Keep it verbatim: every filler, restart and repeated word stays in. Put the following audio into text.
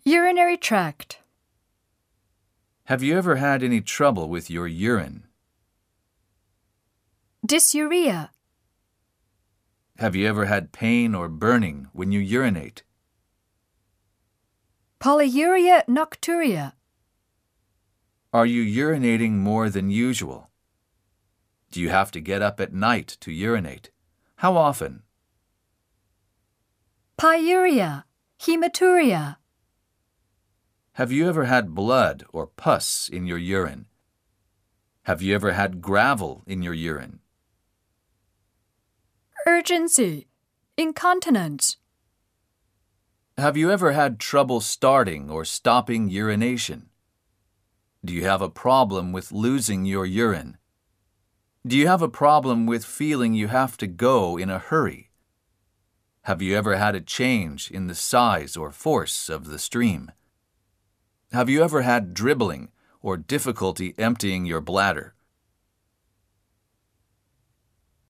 Urinary tract. Have you ever had any trouble with your urine? Dysuria. Have you ever had pain or burning when you urinate? Polyuria nocturia. Are you urinating more than usual? Do you have to get up at night to urinate? How often? Pyuria. Hematuria. Have you ever had blood or pus in your urine? Have you ever had gravel in your urine? Urgency. Incontinence. Have you ever had trouble starting or stopping urination? Do you have a problem with losing your urine? Do you have a problem with feeling you have to go in a hurry? Have you ever had a change in the size or force of the stream? Have you ever had dribbling or difficulty emptying your bladder?